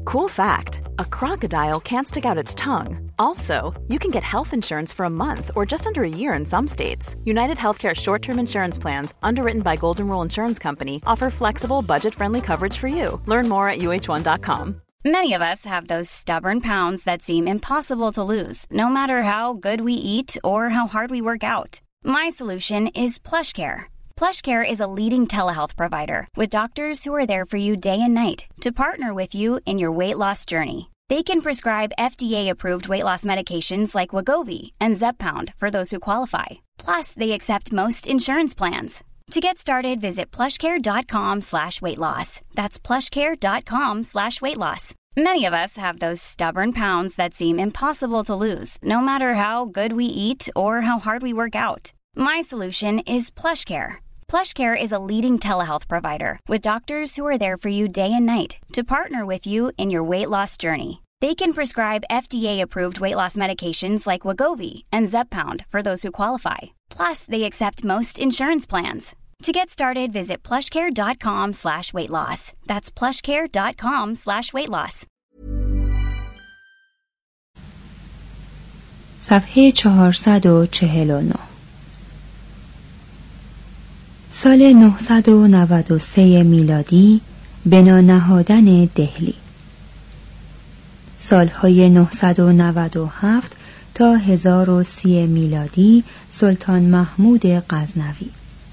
Cool fact, a crocodile can't stick out its tongue. Also, you can get health insurance for a month or just under a year in some states. United Healthcare short-term insurance plans, underwritten by Golden Rule Insurance Company, offer flexible, budget-friendly coverage for you. Learn more at uh1.com. Many of us have those stubborn pounds that seem impossible to lose, no matter how good we eat or how hard we work out. My solution is PlushCare. PlushCare is a leading telehealth provider with doctors who are there for you day and night to partner with you in your weight loss journey. They can prescribe FDA-approved weight loss medications like Wegovy and Zepbound for those who qualify. Plus, they accept most insurance plans. To get started, visit plushcare.com/weightloss. That's plushcare.com/weightloss. Many of us have those stubborn pounds that seem impossible to lose, no matter how good we eat or how hard we work out. My solution is PlushCare. PlushCare is a leading telehealth provider with doctors who are there for you day and night to partner with you in your weight loss journey. They can prescribe FDA-approved weight loss medications like Wegovy and Zepbound for those who qualify. Plus, they accept most insurance plans. To get started, visit plushcare.com/weightloss. That's plushcare.com/weightloss. صفحه 449. سال 993 میلادی بنا نهادن دهلی. سالهای 997 تا 1030 میلادی سلطان محمود غزنوی.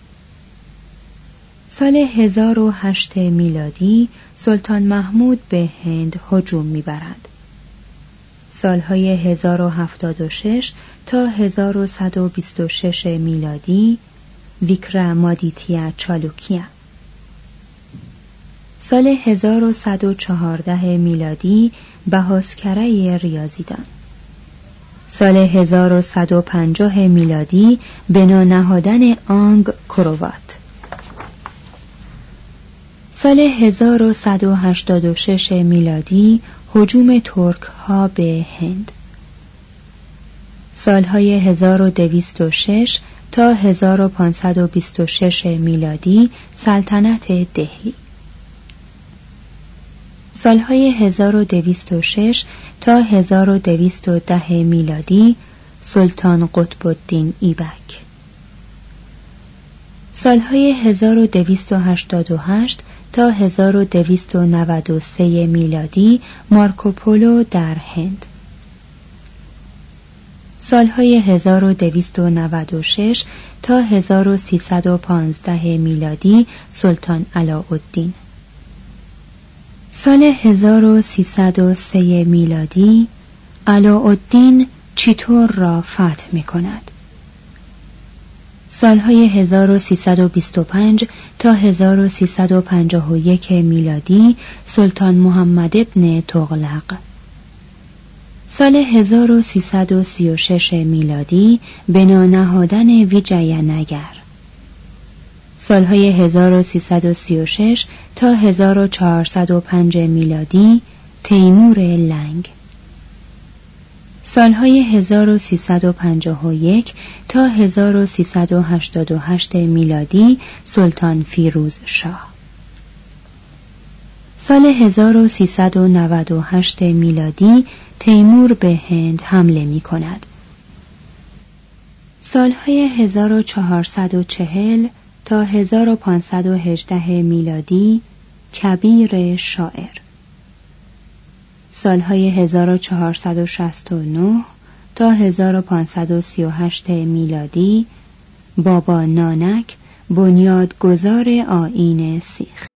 سال 1008 میلادی سلطان محمود به هند هجوم می‌برد. سالهای 1076 تا 1126 میلادی ویکرمادیتیا چالوکیا. سال 1114 میلادی بهاسکره ریاضیدان. سال 1150 میلادی بنا نهادن آنگ کروات. سال 1186 میلادی هجوم ترک ها به هند. سالهای 1206 تا 1526 میلادی سلطنت دهلی. سالهای 1206 تا 1210 میلادی سلطان قطب الدین ایبک. سالهای 1288 تا 1293 میلادی مارکوپولو در هند. سالهای 1296 تا 1315 میلادی سلطان علاءالدین. سال 1303 میلادی علاءالدین چیتور را فتح می کند. سالهای 1325 تا 1351 میلادی سلطان محمد ابن تغلق. سال 1336 میلادی بنا نهادن ویجاینگر. سالهای 1336 تا 1405 میلادی تیمور لنگ. سالهای 1351 تا 1388 میلادی سلطان فیروز شاه. سال 1398 میلادی تیمور به هند حمله می کند. سالهای 1440 تا 1518 میلادی کبیر شاعر. سالهای 1469 تا 1538 میلادی بابا نانک بنیادگذار آیین سیخ.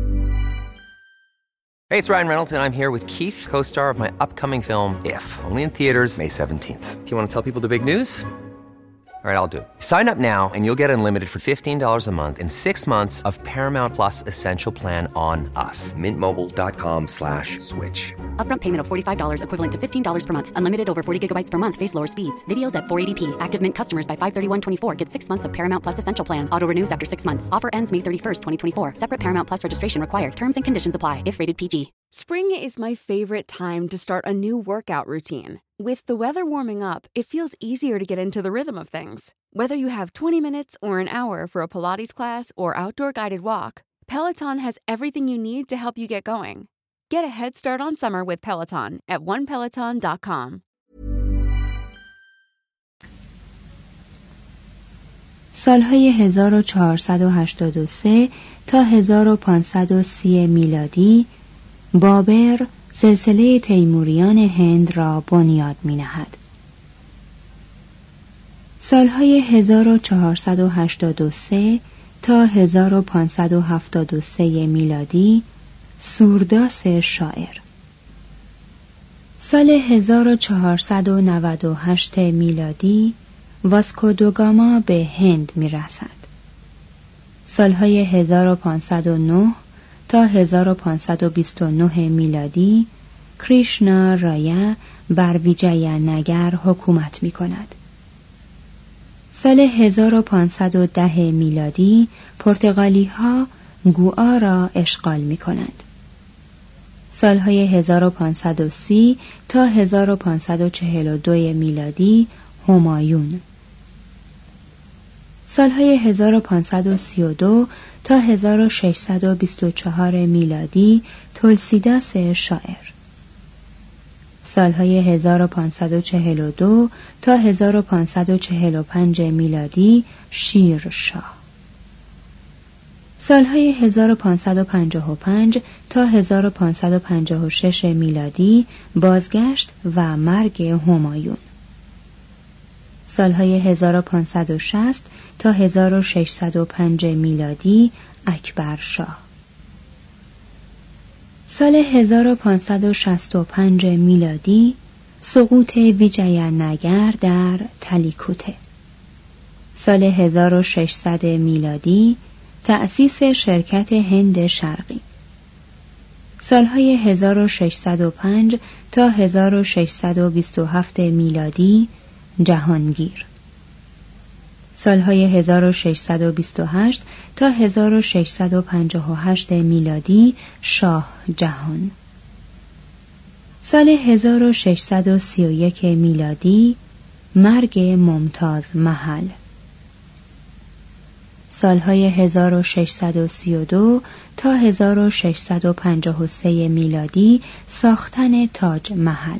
Hey, it's Ryan Reynolds, and I'm here with Keith, co-star of my upcoming film, If, only in theaters May 17th. Do you want to tell people the big news? All right, I'll do it. Sign up now and you'll get unlimited for $15 a month and 6 months of Paramount Plus Essential Plan on us. MintMobile.com/switch. Upfront payment of $45 equivalent to $15 per month. Unlimited over 40 gigabytes per month. Face lower speeds. Videos at 480p. Active Mint customers by 531.24 get 6 months of Paramount Plus Essential Plan. Auto renews after 6 months. Offer ends May 31st, 2024. Separate Paramount Plus registration required. Terms and conditions apply if rated PG. Spring is my favorite time to start a new workout routine. With the weather warming up, it feels easier to get into the rhythm of things. Whether you have 20 minutes or an hour for a Pilates class or outdoor guided walk, Peloton has everything you need to help you get going. Get a head start on summer with Peloton at onepeloton.com. سالهای 1483 تا 1530 میلادی بابر سلسله تیموریان هند را بنیاد می‌نهد. سالهای 1483 تا 1573 میلادی سورداس شاعر. سال 1498 میلادی واسکو دو گاما به هند می‌رسد. سالهای 1509 تا 1529 میلادی کریشنا رایا بر ویجایا نگر حکومت می‌کند. سال 1510 میلادی پرتغالی‌ها گوآ را اشغال می‌کنند. سالهای 1530 تا 1542 میلادی همایون. سالهای 1532 تا 1624 میلادی تولسیداس شاعر. سالهای 1542 تا 1545 میلادی شیر شاه. سالهای 1555 تا 1556 میلادی بازگشت و مرگ همایون. سالهای 1560 تا 1605 میلادی اکبر شاه. سال 1565 میلادی سقوط ویجایا نگر در تلیکوته. سال 1600 میلادی تأسیس شرکت هند شرقی. سالهای 1605 تا 1627 میلادی جهانگیر. سالهای 1628 تا 1658 میلادی شاه جهان. سال 1631 میلادی مرگ ممتاز محل. سالهای 1632 تا 1653 میلادی ساختن تاج محل.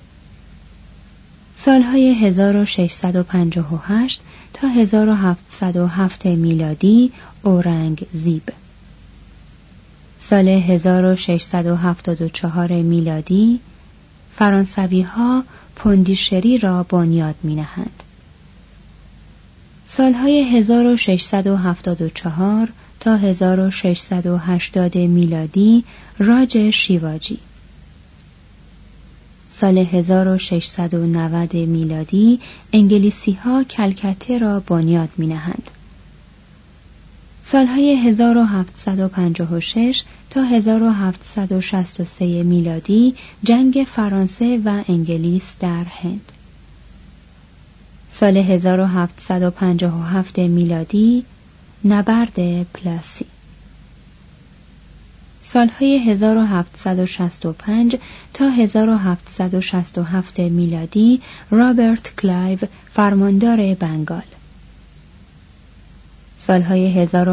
سالهای 1658 تا 1707 میلادی اورنگزیب. سال 1674 میلادی فرانسوی‌ها پوندیشری را بنیاد می‌نهند. سالهای 1674 تا 1680 میلادی راج شیواجی. سال 1690 میلادی انگلیسی‌ها کلکته را بنیاد می‌نهند. سالهای 1756 تا 1763 میلادی جنگ فرانسه و انگلیس در هند. سال 1757 میلادی نبرد پلاسی. سالهای 1765 تا 1767 میلادی رابرت کلایو فرماندار بنگال. سالهای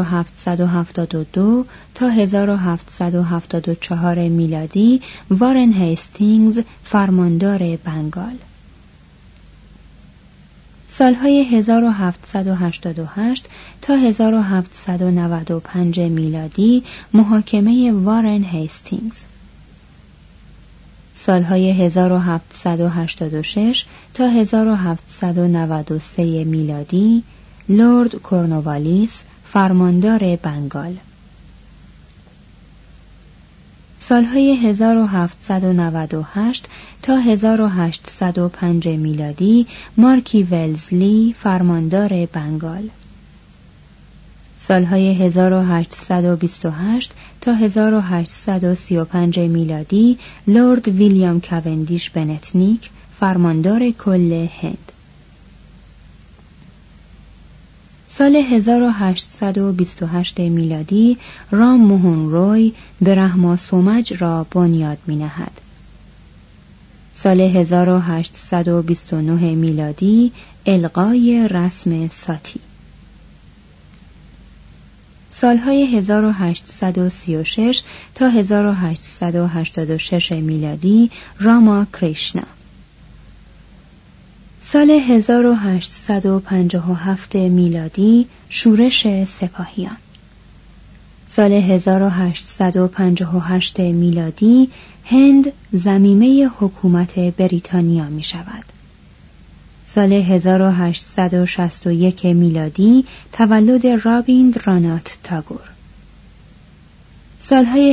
1772 تا 1774 میلادی وارن هیستینگز فرماندار بنگال. سالهای 1788 تا 1795 میلادی محاکمه وارن هیستینگز. سالهای 1786 تا 1793 میلادی لورد کورنوالیس فرماندار بنگال. سالهای 1798 تا 1805 میلادی مارکی ولزلی فرماندار بنگال. سالهای 1828 تا 1835 میلادی لورد ویلیام کوندیش بنتنیک فرماندار کل هند. سال 1828 میلادی رام موهن روی برهما سومج را بنیاد می‌نهد. سال 1829 میلادی الغای رسم ساتی. سالهای 1836 تا 1886 میلادی راما کریشنا. سال 1857 میلادی شورش سپاهیان. سال 1858 میلادی هند ضمیمه حکومت بریتانیا می شود. سال 1861 میلادی تولد رابیندرانات تاگور. سالهای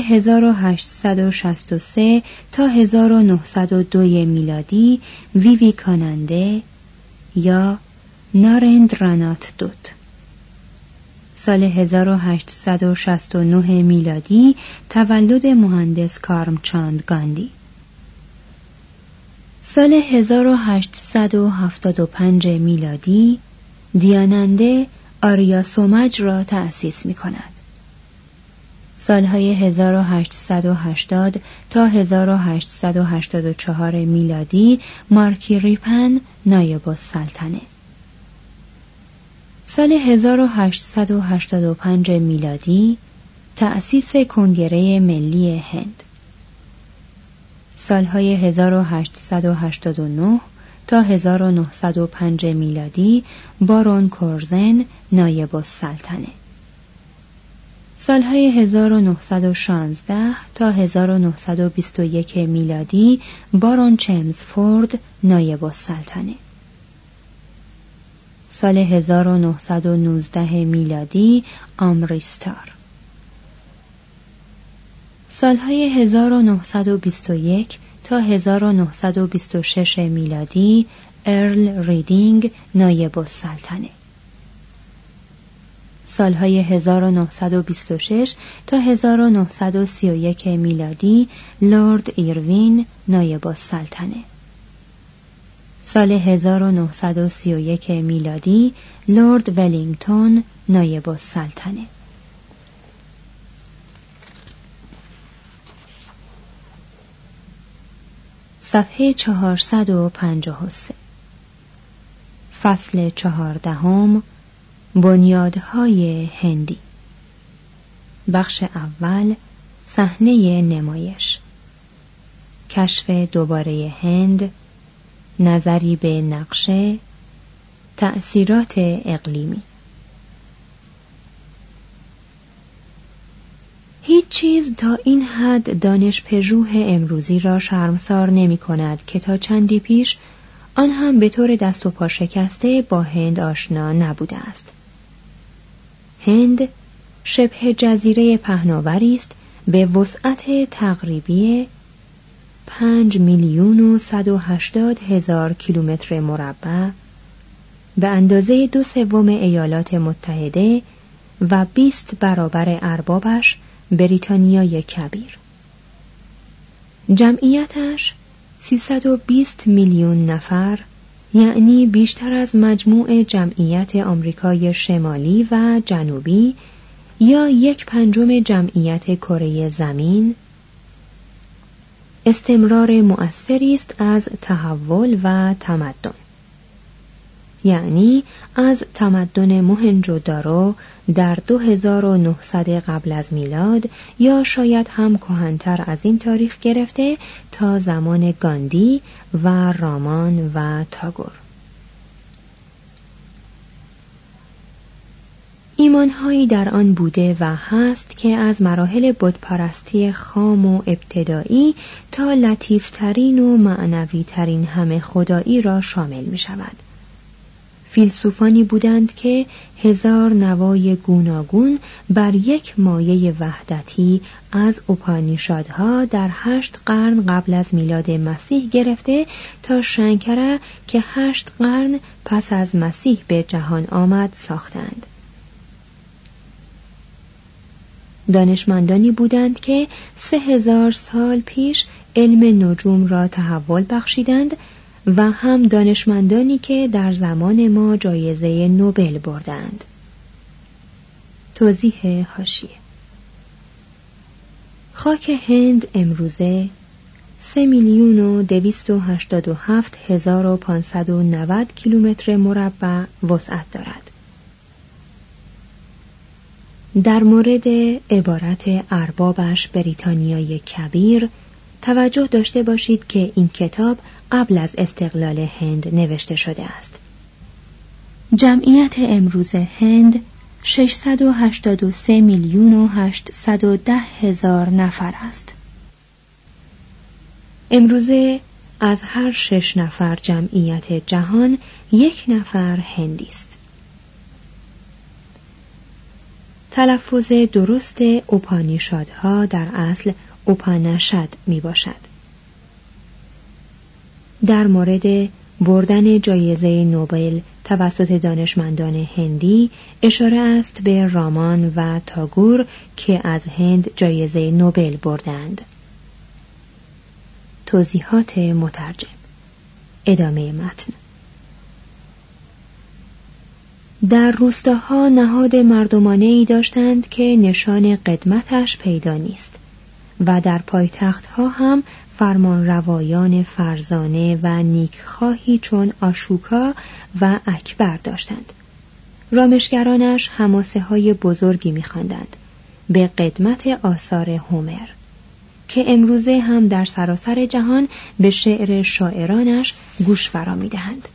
1863 تا 1902 میلادی ویویکاننده یا نارندرانات دوت. سال 1869 میلادی تولد مهندس کارمچاند گاندی. سال 1875 میلادی دیاننده آریا سومج را تأسیس می کند. سالهای 1880 تا 1884 میلادی مارکی ریپن نایب السلطنه. سال 1885 میلادی تأسیس کنگره ملی هند. سالهای 1889 تا 1905 میلادی بارون کورزن نایب السلطنه. سالهای 1916 تا 1921 میلادی بارون چمزفورد نایب السلطنه. سال 1919 میلادی آمریستار. سالهای 1921 تا 1926 میلادی ارل ریدینگ نایب السلطنه. سالهای 1926 تا 1931 میلادی لورد ایروین نایب السلطنه. سال 1931 میلادی لورد ولینگتون نایب السلطنه. صفحه 453. فصل 14. بنیادهای هندی. بخش اول. صحنه نمایش. کشف دوباره هند. نظری به نقشه. تأثیرات اقلیمی. هیچ چیز تا این حد دانش پژوه امروزی را شرمسار نمی کند که تا چندی پیش آن هم به طور دست و پا شکسته با هند آشنا نبوده است. هند شبه جزیره پهناوری است به وسعت تقریبی 5,180,000 کیلومتر مربع، به اندازه 2/3 ایالات متحده و 20 برابر اربابش بریتانیای کبیر. جمعیتش 320 میلیون نفر، یعنی بیشتر از مجموع جمعیت آمریکای شمالی و جنوبی یا 1/5 جمعیت کره زمین. استمرار مؤثری است از تحول و تمدن، یعنی از تمدن موهنجودارو در 2900 قبل از میلاد یا شاید هم کهن‌تر از این تاریخ گرفته تا زمان گاندی و رامان و تاگور. ایمانهایی در آن بوده و هست که از مراحل بتپرستی خام و ابتدایی تا لطیفترین و معنویترین همه خدایی را شامل می شود. فیلسوفانی بودند که 1000 نوای گوناگون بر یک مایه وحدتی از اپانیشادها در 8 قرن قبل از میلاد مسیح گرفته تا شنکره که 8 قرن پس از مسیح به جهان آمد ساختند. دانشمندانی بودند که 3000 سال پیش علم نجوم را تحول بخشیدند و هم دانشمندانی که در زمان ما جایزه نوبل بردند. توضیح حاشیه: خاک هند امروزه 3,287,590 کیلومتر مربع وسعت دارد. در مورد عبارت اربابش بریتانیای کبیر توجه داشته باشید که این کتاب قبل از استقلال هند نوشته شده است. جمعیت امروز هند 683,810,000 نفر است. امروزه از هر 6 نفر جمعیت جهان 1 نفر هندی است. تلفظ درست اوپانیشادها در اصل اوپانشد می باشد. در مورد بردن جایزه نوبل توسط دانشمندان هندی اشاره است به رامان و تاگور که از هند جایزه نوبل بردند. توضیحات مترجم. ادامه متن. در روستاها نهاد مردمانه‌ای داشتند که نشان قدمتش پیدا نیست و در پایتختها هم فرمانروایان فرزانه و نیکخواهی چون آشوکا و اکبر داشتند. رامشگرانش حماسه های بزرگی می‌خواندند به قدمت آثار هومر که امروزه هم در سراسر جهان به شعر شاعرانش گوش فرا می‌دهند.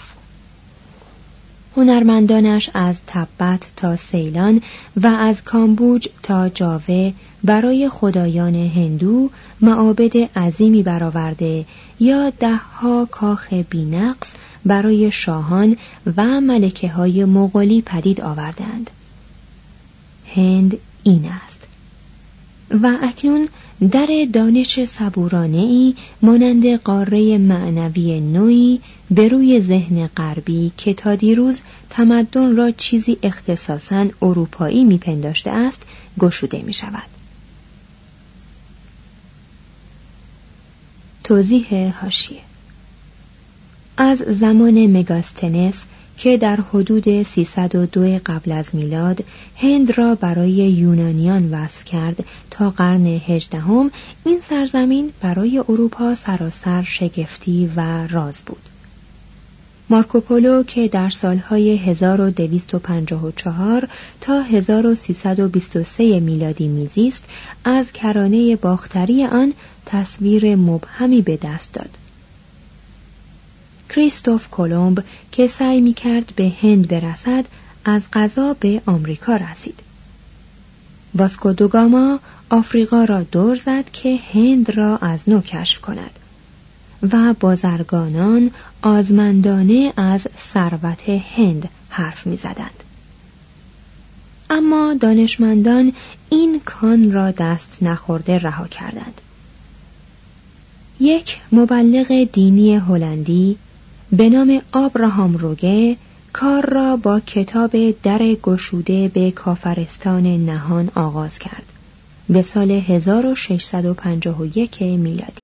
هنرمندانش از تبت تا سیلان و از کامبوج تا جاوه برای خدایان هندو معابد عظیمی برآورده یا 10 کاخ بی‌نقص برای شاهان و ملکه های مغولی پدید آوردند. هند این است. و اکنون در دانش صبورانه‌ای مانند قاره معنوی نوعی به روی ذهن غربی که تا دیروز تمدن را چیزی اختصاصاً اروپایی می‌پنداشته است گشوده می‌شود. توضیح حاشیه. از زمان مگاستنس که در حدود 302 قبل از میلاد هند را برای یونانیان وصف کرد تا قرن 18 این سرزمین برای اروپا سراسر شگفتی و راز بود. مارکوپولو که در سالهای 1254 تا 1323 میلادی میزیست از کرانه باختری آن تصویر مبهمی به دست داد. کریستوف کلمب که سعی می‌کرد به هند برسد از قضا به آمریکا رسید. واسکو دو گاما آفریقا را دور زد که هند را از نو کشف کند و بازرگانان آزمندانه از ثروت هند حرف می‌زدند. اما دانشمندان این کان را دست نخورده رها کردند. یک مبلغ دینی هلندی به نام آبراهام روگه کار را با کتاب در گشوده به کافرستان نهان آغاز کرد به سال 1651 میلادی.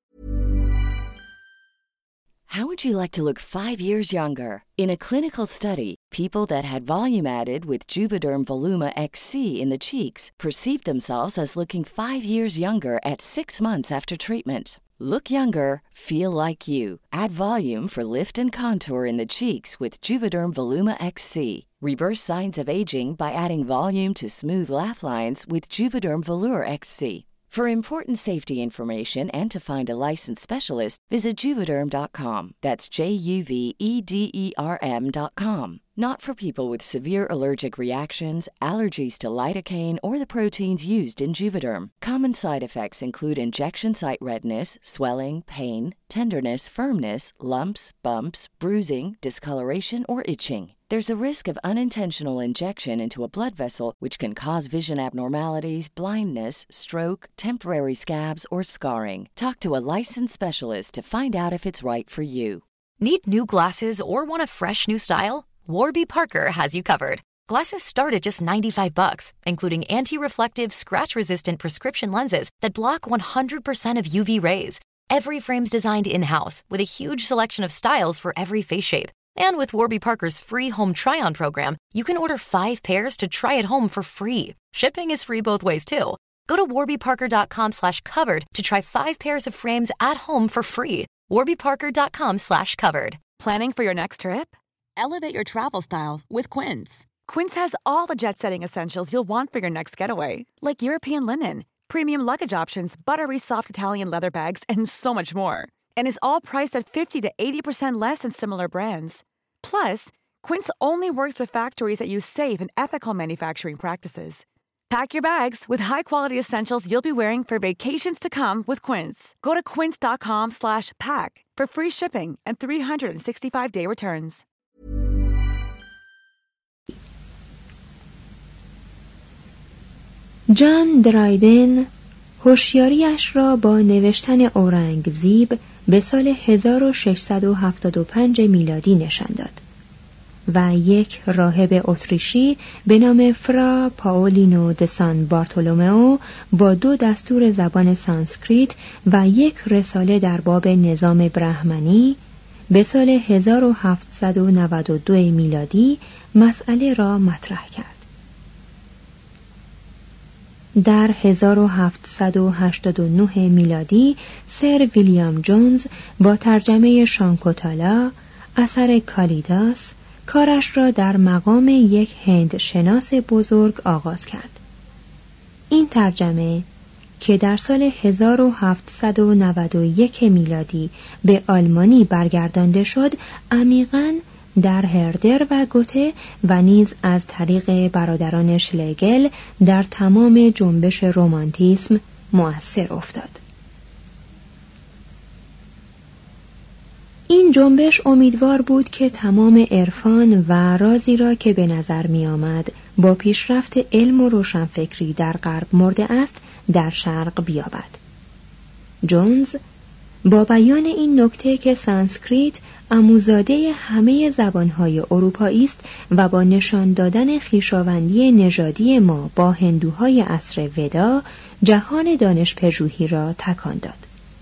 How would you like to look 5 years younger? In a clinical study, people that had volume added with Juvederm Voluma XC in the cheeks perceived themselves as looking 5 years younger at 6 months after treatment. Look younger, feel like you. Add volume for lift and contour in the cheeks with Juvederm Voluma XC. Reverse signs of aging by adding volume to smooth laugh lines with Juvederm Volure XC. For important safety information and to find a licensed specialist, visit Juvederm.com. That's JUVEDERM.com. Not for people with severe allergic reactions, allergies to lidocaine, or the proteins used in Juvederm. Common side effects include injection site redness, swelling, pain, tenderness, firmness, lumps, bumps, bruising, discoloration, or itching. There's a risk of unintentional injection into a blood vessel, which can cause vision abnormalities, blindness, stroke, temporary scabs, or scarring. Talk to a licensed specialist to find out if it's right for you. Need new glasses or want a fresh new style? Warby Parker has you covered. Glasses start at just $95, including anti-reflective, scratch-resistant prescription lenses that block 100% of UV rays. Every frame's designed in-house with a huge selection of styles for every face shape. And with Warby Parker's free home try-on program, you can order 5 pairs to try at home for free. Shipping is free both ways, too. Go to warbyparker.com/covered to try 5 pairs of frames at home for free. warbyparker.com/covered. Planning for your next trip? Elevate your travel style with Quince. Quince has all the jet-setting essentials you'll want for your next getaway, like European linen, premium luggage options, buttery soft Italian leather bags, and so much more. And is all priced at 50 to 80% less than similar brands. Plus, Quince only works with factories that use safe and ethical manufacturing practices. Pack your bags with high-quality essentials you'll be wearing for vacations to come with Quince. Go to quince.com/pack for free shipping and 365-day returns. جان درایدن هوشیاریش را با نوشتن اورنگزیب به سال 1675 میلادی نشان داد و یک راهب اتریشی به نام فرا پاولینو د سان بارتولومئو با 2 دستور زبان سانسکریت و یک رساله در باب نظام برهمنی به سال 1792 میلادی مسئله را مطرح کرد. در 1789 میلادی سر ویلیام جونز با ترجمه شانکوتالا اثر کالیداس کارش را در مقام یک هند شناس بزرگ آغاز کرد. این ترجمه که در سال 1791 میلادی به آلمانی برگردانده شد، عمیقاً در هردر و گوته و نیز از طریق برادران شلگل در تمام جنبش رمانتیسم مؤثر افتاد. این جنبش امیدوار بود که تمام عرفان و رازی را که به نظر می آمد با پیشرفت علم و روشنفکری در غرب مرده است در شرق بیابد. جونز با بیان این نکته که سانسکریت عموزاده همه زبانهای اروپایی است و با نشان دادن خویشاوندی نژادی ما با هندوهای عصر ودا جهان دانش پژوهی را تکان داد.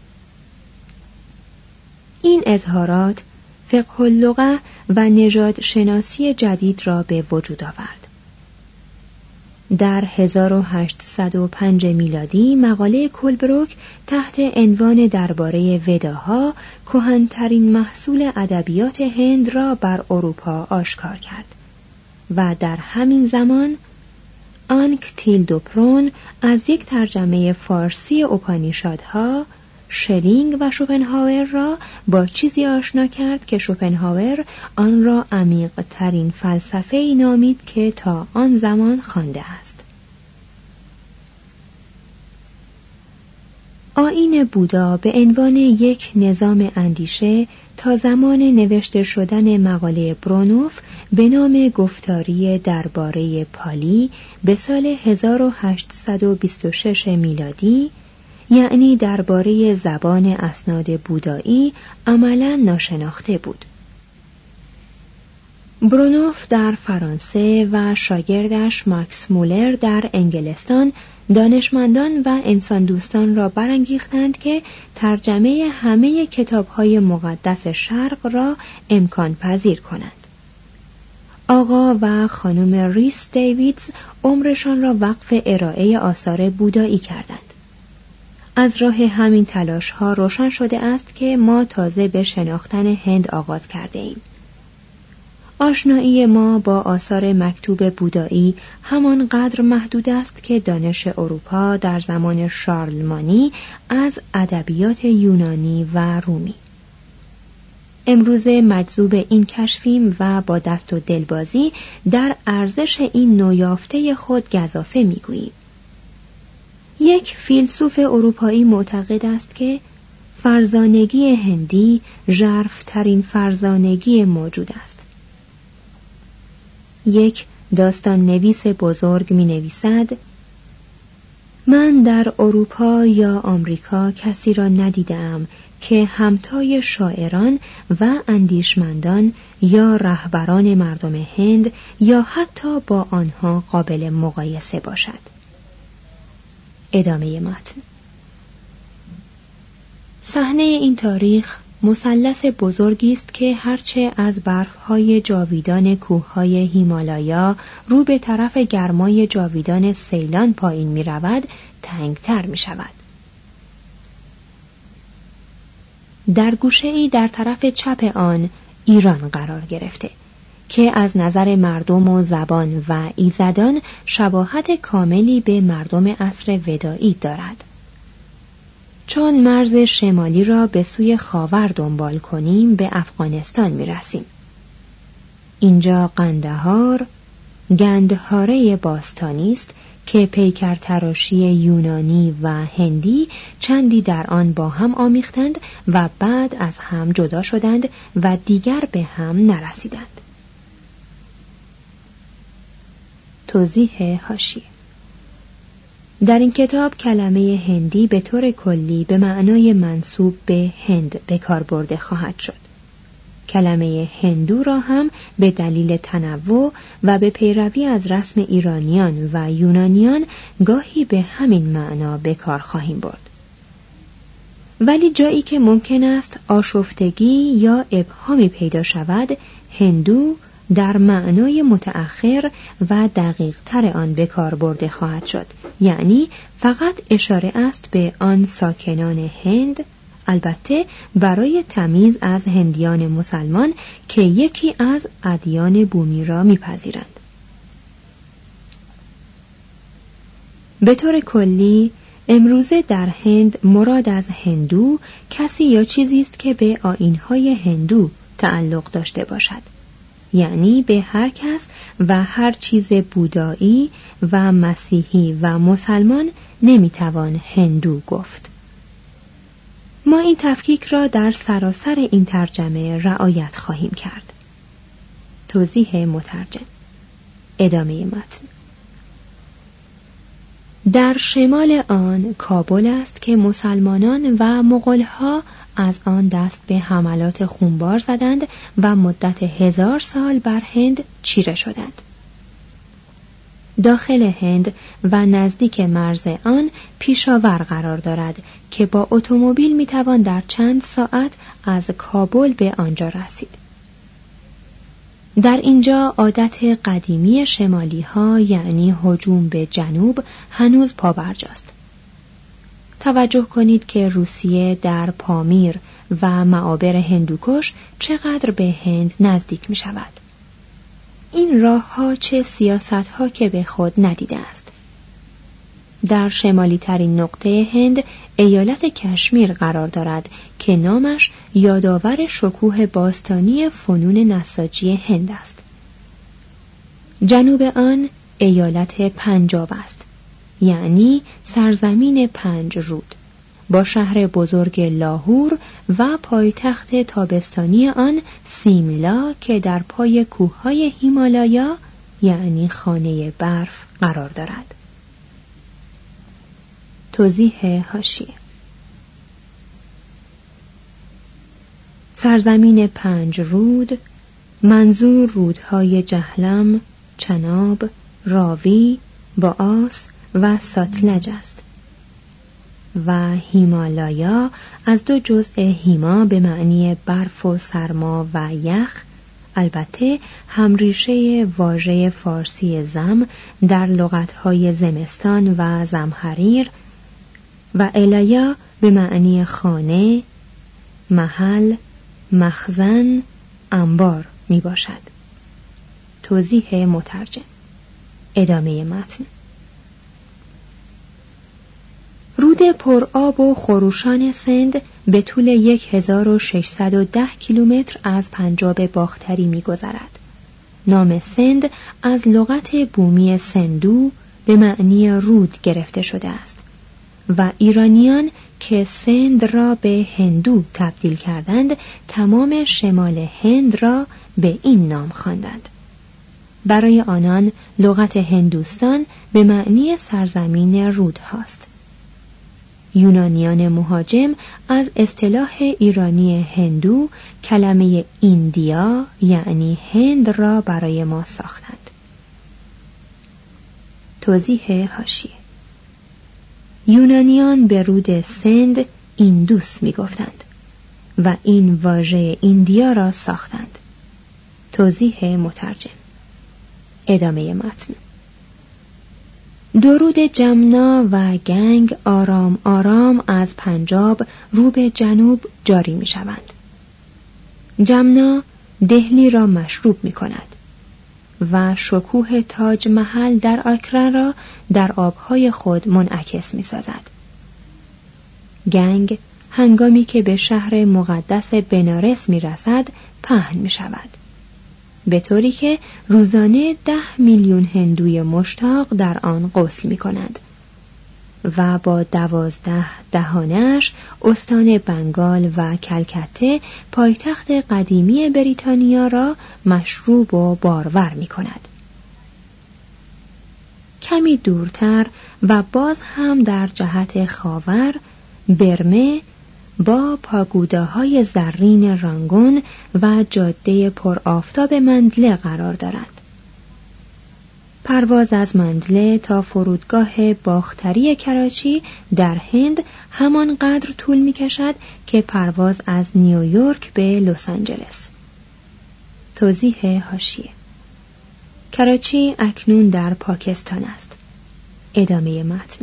این اظهارات فقه اللغه و نژاد شناسی جدید را به وجود آورد. در 1805 میلادی مقاله کولبروک تحت عنوان درباره وداها کهن‌ترین محصول ادبیات هند را بر اروپا آشکار کرد و در همین زمان آنک تیلدوپرون از یک ترجمه فارسی اپانیشادها شلینگ و شوپنهاور را با چیزی آشنا کرد که شوپنهاور آن را عمیق‌ترین فلسفه‌ای نامید که تا آن زمان خوانده است. آیین بودا به عنوان یک نظام اندیشه تا زمان نوشته شدن مقاله برونوف به نام گفتاری درباره پالی به سال 1826 میلادی، یعنی درباره زبان اسناد بودایی، عملاً ناشناخته بود. برونوف در فرانسه و شاگردش ماکس مولر در انگلستان دانشمندان و انسان دوستان را برانگیختند که ترجمه همه کتاب‌های مقدس شرق را امکان پذیر کنند. آقا و خانم ریس دیویدز عمرشان را وقف ارائه آثار بودایی کردند. از راه همین تلاش‌ها روشن شده است که ما تازه به شناختن هند آغاز کرده ایم. آشنایی ما با آثار مکتوب بودایی همانقدر محدود است که دانش اروپا در زمان شارلمانی از ادبیات یونانی و رومی. امروزه مجذوب این کشفیم و با دست و دلبازی در ارزش این نویافته خود گزافه می‌گوییم. یک فیلسوف اروپایی معتقد است که فرزانگی هندی ژرف‌ترین فرزانگی موجود است. یک داستان نویس بزرگ می نویسد: من در اروپا یا آمریکا کسی را ندیدم که همتای شاعران و اندیشمندان یا رهبران مردم هند یا حتی با آنها قابل مقایسه باشد. ادامه متن. صحنه این تاریخ مثلث بزرگی است که هرچه از برف‌های جاویدان کوه‌های هیمالایا رو به طرف گرمای جاویدان سیلان پایین می‌رود، تنگتر می‌شود. در گوشه‌ای در طرف چپ آن ایران قرار گرفته که از نظر مردم و زبان و ایزدان شباهت کاملی به مردم عصر ودائی دارد. چون مرز شمالی را به سوی خاور دنبال کنیم به افغانستان می رسیم. اینجا قندهار، گندهاره باستانی است که پیکر تراشی یونانی و هندی چندی در آن با هم آمیختند و بعد از هم جدا شدند و دیگر به هم نرسیدند. توضیح حاشیه: در این کتاب کلمه هندی به طور کلی به معنای منسوب به هند به کار برده خواهد شد. کلمه هندو را هم به دلیل تنوع و به پیروی از رسم ایرانیان و یونانیان گاهی به همین معنا به کار خواهیم برد. ولی جایی که ممکن است آشفتگی یا ابهامی پیدا شود، هندو در معنای متأخر و دقیق تر آن به کار برده خواهد شد، یعنی فقط اشاره است به آن ساکنان هند، البته برای تمیز از هندیان مسلمان که یکی از ادیان بومی را می‌پذیرند. به طور کلی امروزه در هند مراد از هندو کسی یا چیزی است که به آیین‌های هندو تعلق داشته باشد، یعنی به هر کس و هر چیز بودایی و مسیحی و مسلمان نمیتوان هندو گفت. ما این تفکیک را در سراسر این ترجمه رعایت خواهیم کرد. توضیح مترجم. ادامه متن. در شمال آن کابل است که مسلمانان و مغول‌ها از آن دست به حملات خونبار زدند و مدت 1000 سال بر هند چیره شدند. داخل هند و نزدیک مرز آن پیشاور قرار دارد که با اتومبیل میتوان در چند ساعت از کابل به آنجا رسید. در اینجا عادت قدیمی شمالی ها یعنی هجوم به جنوب هنوز پابرجاست. توجه کنید که روسیه در پامیر و معابر هندوکش چقدر به هند نزدیک می شود. این راه ها چه سیاست ها که به خود ندیده است. در شمالی ترین نقطه هند ایالت کشمیر قرار دارد که نامش یادآور شکوه باستانی فنون نساجی هند است. جنوب آن ایالت پنجاب است، یعنی سرزمین 5 رود، با شهر بزرگ لاهور و پایتخت تابستانی آن سیملا که در پای کوههای هیمالایا یعنی خانه برف قرار دارد. توضیح حاشیه: سرزمین 5 رود منظور رودهای جهلم، چناب، راوی، باعاس و ساتلج است و هیمالایا از 2 جزء هیما به معنی برف و سرما و یخ، البته همریشه واژه فارسی زم در لغتهای زمستان و زمهریر، و الایا به معنی خانه، محل، مخزن، انبار می باشد. توضیح مترجم. ادامه متن. رود پرآب و خروشان سند به طول 1610 کیلومتر از پنجاب باختری می گذرد. نام سند از لغت بومی سندو به معنی رود گرفته شده است و ایرانیان که سند را به هندو تبدیل کردند تمام شمال هند را به این نام خواندند. برای آنان لغت هندوستان به معنی سرزمین رود هاست. یونانیان مهاجم از اصطلاح ایرانی هندو کلمه ایندیا یعنی هند را برای ما ساختند. توضیح حاشیه: یونانیان به رود سند ایندوس می گفتند و این واژه ایندیا را ساختند. توضیح مترجم. ادامه متن. درود جمنا و گنگ آرام آرام از پنجاب رو به جنوب جاری می شوند. جمنا دهلی را مشروب می کند و شکوه تاج محل در آگرا را در آبهای خود منعکس می سازد. گنگ هنگامی که به شهر مقدس بنارس می رسد پهن می شود، به طوری که روزانه 10 میلیون هندوی مشتاق در آن غسل می کنند و با 12 دهانش استان بنگال و کلکته پایتخت قدیمی بریتانیا را مشروب و بارور می کند. کمی دورتر و باز هم در جهت خاور، برمه با پاگوداهای زرین رانگون و جاده پر آفتاب مندله قرار دارد. پرواز از مندله تا فرودگاه باختری کراچی در هند همانقدر طول می کشد که پرواز از نیویورک به لس آنجلس. توضیح حاشیه: کراچی اکنون در پاکستان است. ادامه متن.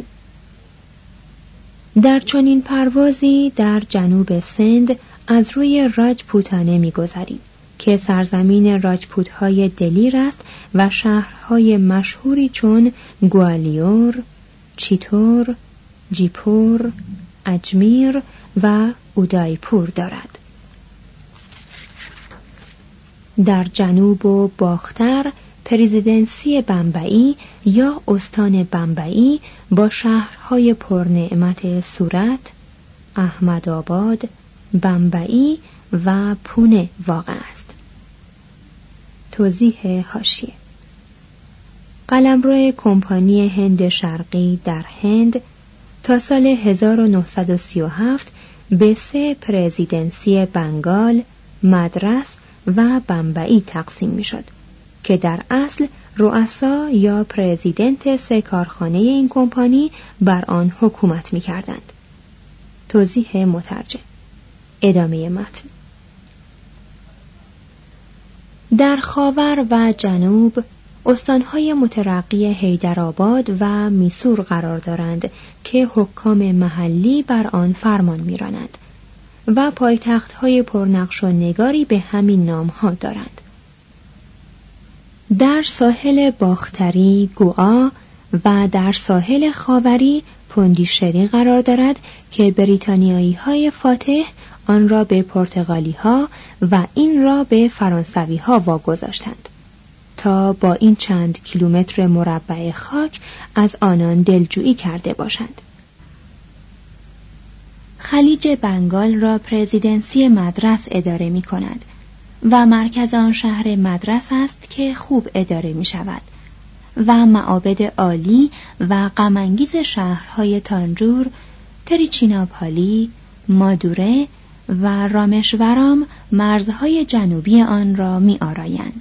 در چنین پروازی در جنوب سند از روی راجپوتانه می‌گذریم که سرزمین راجپوت‌های دلیر است و شهرهای مشهوری چون گوالیور، چیتور، جیپور، اجمیر و اودایپور دارد. در جنوب و باختر پرزیدنسی بمبئی یا استان بمبئی با شهرهای پرنعمت سورت، احمدآباد، بمبئی و پونه واقع است. توضیح حاشیه: قلمرو کمپانی هند شرقی در هند تا سال 1937 به 3 پرزیدنسی بنگال، مدرس و بمبئی تقسیم می شد که در اصل رؤسا یا پرزیدنت 3 کارخانه این کمپانی بر آن حکومت می کردند. توضیح مترجم. ادامه متن. در خاور و جنوب استانهای مترقی حیدرآباد و میسور قرار دارند که حکام محلی بر آن فرمان می‌رانند و پایتخت‌های پرنقش و نگاری به همین نام‌ها دارند. در ساحل باختری گوا و در ساحل خاوری پوندیشری قرار دارد که بریتانیایی‌های فاتح آن را به پرتغالی‌ها و این را به فرانسوی‌ها واگذاشتند تا با این چند کیلومتر مربع خاک از آنان دلجویی کرده باشند. خلیج بنگال را پرزیدنسی مدرس اداره می کند و مرکز آن شهر مدرس است که خوب اداره می شود و معابد عالی و غم‌انگیز شهرهای تانجور، تریچیناپالی، مادوره و رامشورام مرزهای جنوبی آن را می آرایند.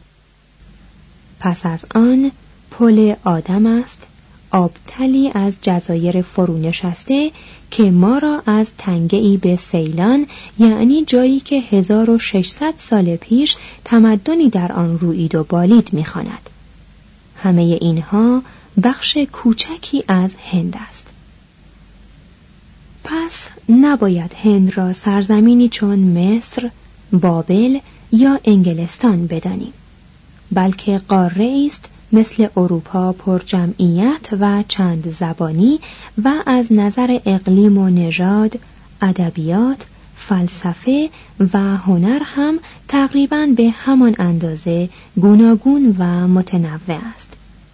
پس از آن پل آدم است، آبتلی از جزایر فرونشسته که ما را از تنگه‌ای به سیلان، یعنی جایی که 1600 سال پیش تمدنی در آن رویید و بالید می‌خواند. همه اینها بخش کوچکی از هند است. پس نباید هند را سرزمینی چون مصر، بابل یا انگلستان بدانیم، بلکه قاره است مثل اروپا پر جمعیت و چند زبانی و از نظر اقلیم و نژاد، ادبیات، فلسفه و هنر هم تقریباً به همان اندازه گوناگون و متنوع است.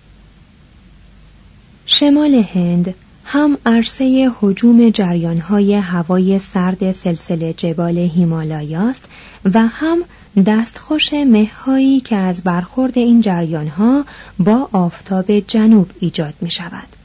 شمال هند هم عرصه هجوم جریان‌های هوای سرد سلسله جبال هیمالایاست و هم دستخوش مه‌هایی که از برخورد این جریان‌ها با آفتاب جنوب ایجاد می‌شود.